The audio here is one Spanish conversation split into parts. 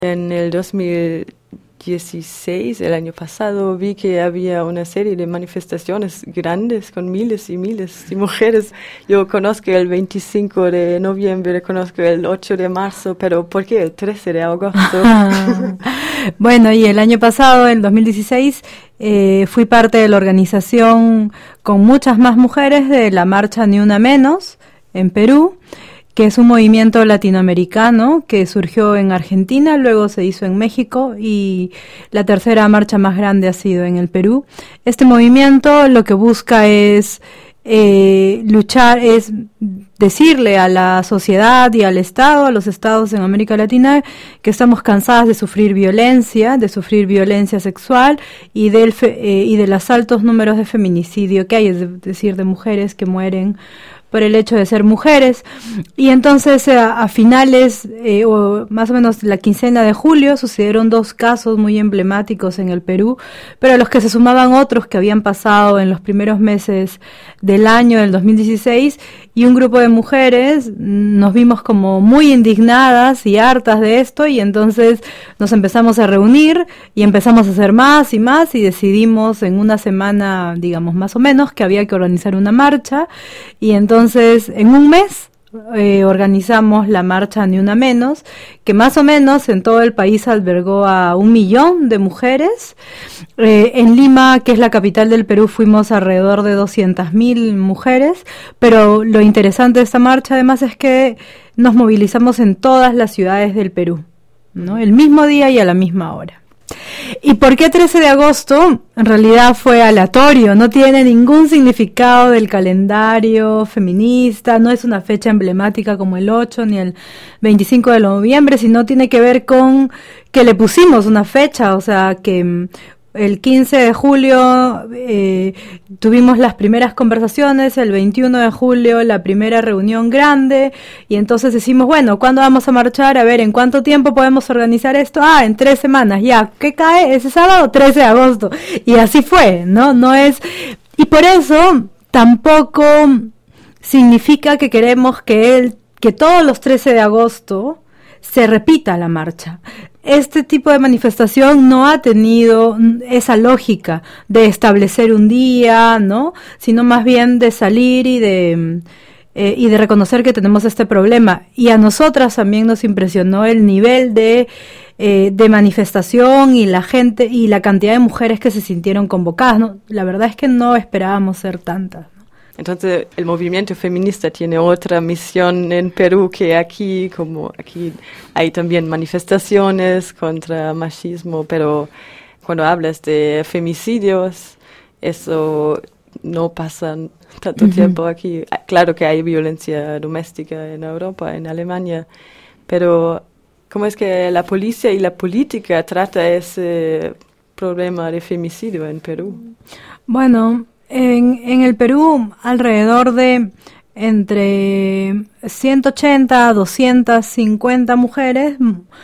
En el 2016, el año pasado, vi que había una serie de manifestaciones grandes con miles y miles de mujeres. Yo conozco el 25 de noviembre, conozco el 8 de marzo, pero ¿por qué el 13 de agosto? Bueno, y el año pasado, el 2016, fui parte de la organización con muchas más mujeres de la marcha Ni Una Menos en Perú, que es un movimiento latinoamericano que surgió en Argentina, luego se hizo en México y la tercera marcha más grande ha sido en el Perú. Este movimiento lo que busca es luchar, es decirle a la sociedad y al Estado, a los estados en América Latina, que estamos cansadas de sufrir violencia sexual y de los altos números de feminicidio que hay, es decir, de mujeres que mueren por el hecho de ser mujeres. Y entonces a finales o más o menos la quincena de julio sucedieron 2 casos muy emblemáticos en el Perú, pero a los que se sumaban otros que habían pasado en los primeros meses del año del 2016, y un grupo de mujeres nos vimos como muy indignadas y hartas de esto, y entonces nos empezamos a reunir y empezamos a hacer más y más, y decidimos en una semana, digamos más o menos, que había que organizar una marcha, y entonces en un mes organizamos la marcha Ni Una Menos, que más o menos en todo el país albergó a 1 millón de mujeres. En Lima, que es la capital del Perú, fuimos alrededor de 200.000 mujeres, pero lo interesante de esta marcha además es que nos movilizamos en todas las ciudades del Perú, ¿no? El mismo día y a la misma hora. ¿Y por qué 13 de agosto? En realidad fue aleatorio, no tiene ningún significado del calendario feminista, no es una fecha emblemática como el 8 ni el 25 de noviembre, sino tiene que ver con que le pusimos una fecha, o sea que el 15 de julio tuvimos las primeras conversaciones, el 21 de julio la primera reunión grande, y entonces decimos, bueno, ¿cuándo vamos a marchar? A ver, ¿en cuánto tiempo podemos organizar esto? En 3 semanas, ya, ¿qué cae? Ese sábado, 13 de agosto, y así fue, ¿no? No es, y por eso tampoco significa que queremos que todos los 13 de agosto se repita la marcha. Este tipo de manifestación no ha tenido esa lógica de establecer un día, ¿no? Sino más bien de salir y de reconocer que tenemos este problema. Y a nosotras también nos impresionó el nivel de manifestación y la gente y la cantidad de mujeres que se sintieron convocadas, ¿no? La verdad es que no esperábamos ser tantas. Entonces, el movimiento feminista tiene otra misión en Perú que aquí, como aquí hay también manifestaciones contra machismo, pero cuando hablas de femicidios, eso no pasa tanto tiempo aquí. Claro que hay violencia doméstica en Europa, en Alemania, pero ¿cómo es que la policía y la política trata ese problema de femicidio en Perú? Bueno, en el Perú, alrededor de entre 180 a 250 mujeres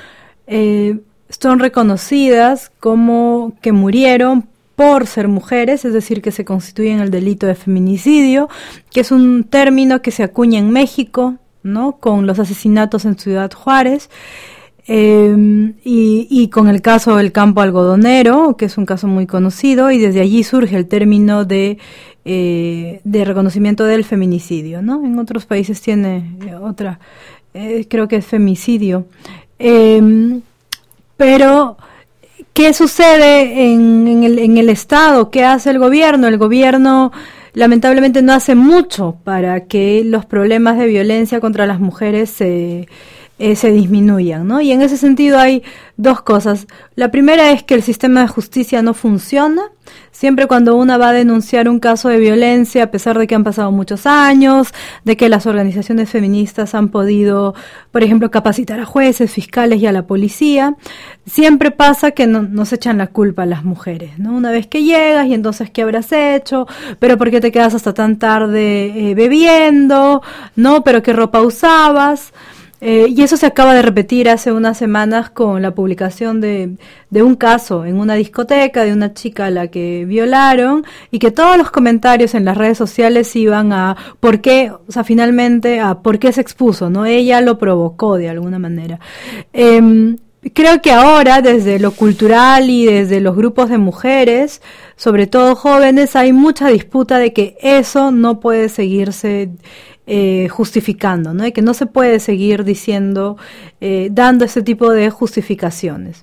son reconocidas como que murieron por ser mujeres, es decir, que se constituyen el delito de feminicidio, que es un término que se acuña en México, ¿no? Con los asesinatos en Ciudad Juárez. Y con el caso del campo algodonero, que es un caso muy conocido, y desde allí surge el término de reconocimiento del feminicidio, ¿no? En otros países tiene otra, creo que es femicidio. Pero, ¿qué sucede en el Estado? ¿Qué hace el gobierno? El gobierno lamentablemente no hace mucho para que los problemas de violencia contra las mujeres se disminuyan, ¿no? Y en ese sentido hay 2 cosas. La primera es que el sistema de justicia no funciona. Siempre cuando una va a denunciar un caso de violencia, a pesar de que han pasado muchos años, de que las organizaciones feministas han podido, por ejemplo, capacitar a jueces, fiscales y a la policía, siempre pasa que nos echan la culpa a las mujeres, ¿no? Una vez que llegas y entonces, ¿qué habrás hecho? ¿Pero por qué te quedas hasta tan tarde bebiendo? ¿No? ¿Pero qué ropa usabas? Y eso se acaba de repetir hace unas semanas con la publicación de un caso en una discoteca de una chica a la que violaron, y que todos los comentarios en las redes sociales iban a por qué, o sea, finalmente a por qué se expuso, ¿no? Ella lo provocó de alguna manera. creo que ahora, desde lo cultural y desde los grupos de mujeres, sobre todo jóvenes, hay mucha disputa de que eso no puede seguirse justificando, ¿no? Y que no se puede seguir diciendo, dando ese tipo de justificaciones.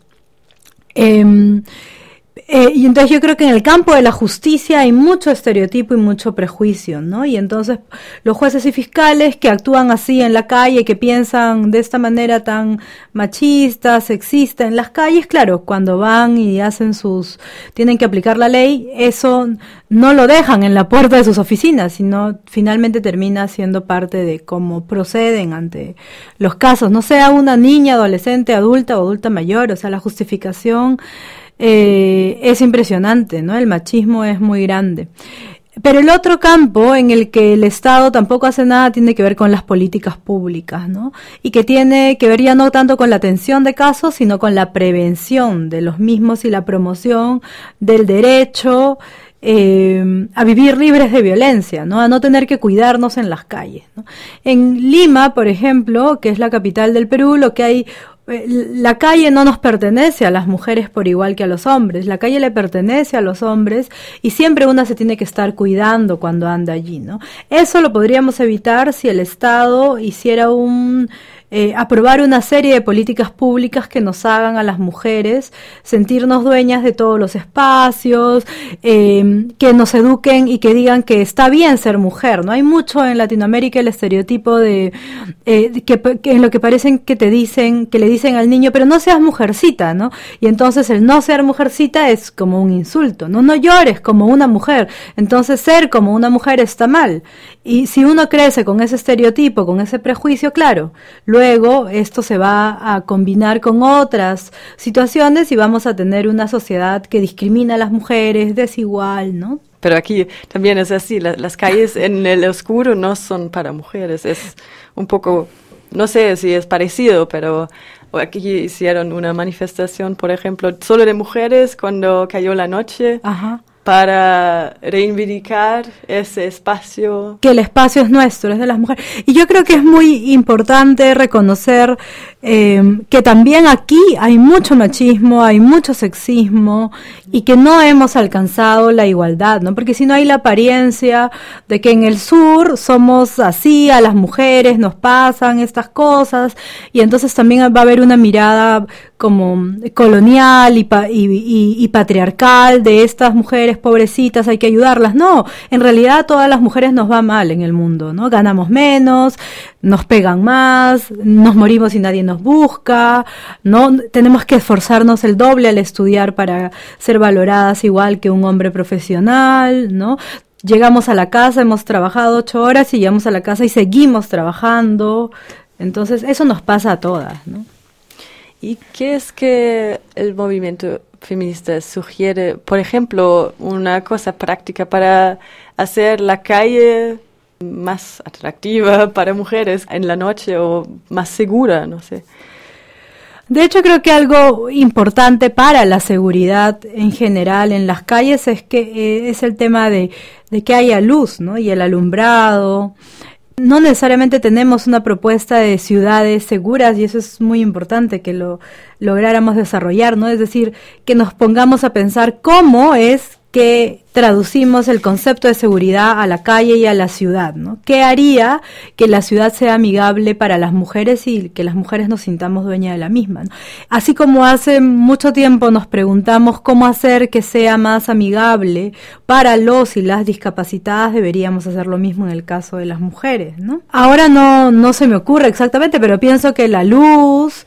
Y entonces yo creo que en el campo de la justicia hay mucho estereotipo y mucho prejuicio, ¿no? Y entonces los jueces y fiscales que actúan así en la calle, que piensan de esta manera tan machista, sexista en las calles, claro, cuando van y tienen que aplicar la ley, eso no lo dejan en la puerta de sus oficinas, sino finalmente termina siendo parte de cómo proceden ante los casos, no sea una niña, adolescente, adulta o adulta mayor, o sea, la justificación es impresionante, ¿no? El machismo es muy grande. Pero el otro campo en el que el Estado tampoco hace nada tiene que ver con las políticas públicas, ¿no? Y que tiene que ver ya no tanto con la atención de casos, sino con la prevención de los mismos y la promoción del derecho a vivir libres de violencia, ¿no? A no tener que cuidarnos en las calles, ¿no? En Lima, por ejemplo, que es la capital del Perú, lo que hay, la calle no nos pertenece a las mujeres por igual que a los hombres, la calle le pertenece a los hombres y siempre una se tiene que estar cuidando cuando anda allí, ¿no? Eso lo podríamos evitar si el Estado hiciera aprobar una serie de políticas públicas que nos hagan a las mujeres sentirnos dueñas de todos los espacios, que nos eduquen y que digan que está bien ser mujer, ¿no? Hay mucho en Latinoamérica el estereotipo de que en lo que parecen que le dicen al niño, pero no seas mujercita, ¿no? Y entonces el no ser mujercita es como un insulto, ¿no? No llores como una mujer, entonces ser como una mujer está mal. Y si uno crece con ese estereotipo, con ese prejuicio, claro, luego esto se va a combinar con otras situaciones y vamos a tener una sociedad que discrimina a las mujeres, desigual, ¿no? Pero aquí también es así, las calles en el oscuro no son para mujeres, es un poco, no sé si es parecido, pero aquí hicieron una manifestación, por ejemplo, solo de mujeres cuando cayó la noche. Ajá. Para reivindicar ese espacio. Que el espacio es nuestro, es de las mujeres. Y yo creo que es muy importante reconocer que también aquí hay mucho machismo, hay mucho sexismo y que no hemos alcanzado la igualdad, ¿no? Porque si no hay la apariencia de que en el sur somos así, a las mujeres nos pasan estas cosas y entonces también va a haber una mirada como colonial y patriarcal de estas mujeres pobrecitas, hay que ayudarlas. No, en realidad a todas las mujeres nos va mal en el mundo, ¿no? Ganamos menos, nos pegan más, nos morimos y nadie nos busca, ¿no? Tenemos que esforzarnos el doble al estudiar para ser valoradas igual que un hombre profesional, ¿no? Llegamos a la casa, hemos trabajado 8 horas y llegamos a la casa y seguimos trabajando. Entonces, eso nos pasa a todas, ¿no? ¿Y qué es que el movimiento feminista sugiere, por ejemplo, una cosa práctica para hacer la calle más atractiva para mujeres en la noche o más segura, no sé? De hecho, creo que algo importante para la seguridad en general en las calles es que es el tema de que haya luz, ¿no? Y el alumbrado. No necesariamente tenemos una propuesta de ciudades seguras y eso es muy importante que lo lográramos desarrollar, ¿no? Es decir, que nos pongamos a pensar cómo es que traducimos el concepto de seguridad a la calle y a la ciudad, ¿no? ¿Qué haría que la ciudad sea amigable para las mujeres y que las mujeres nos sintamos dueñas de la misma, ¿no? Así como hace mucho tiempo nos preguntamos cómo hacer que sea más amigable para los y las discapacitadas, deberíamos hacer lo mismo en el caso de las mujeres, ¿no? Ahora no se me ocurre exactamente, pero pienso que la luz,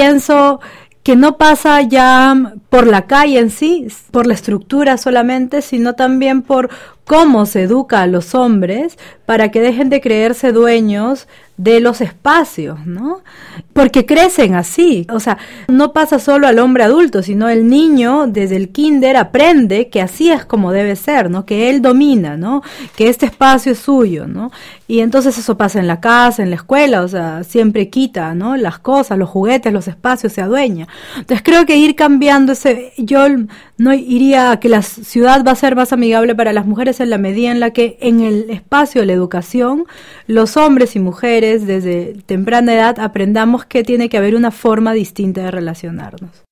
que no pasa ya por la calle en sí, por la estructura solamente, sino también por cómo se educa a los hombres para que dejen de creerse dueños de los espacios, ¿no? Porque crecen así, o sea, no pasa solo al hombre adulto, sino el niño desde el kinder aprende que así es como debe ser, ¿no? Que él domina, ¿no? Que este espacio es suyo, ¿no? Y entonces eso pasa en la casa, en la escuela, o sea, siempre quita, ¿no? Las cosas, los juguetes, los espacios, se adueña. Entonces creo que ir cambiando yo no iría a que la ciudad va a ser más amigable para las mujeres, es en la medida en la que en el espacio de la educación, los hombres y mujeres desde temprana edad aprendamos que tiene que haber una forma distinta de relacionarnos.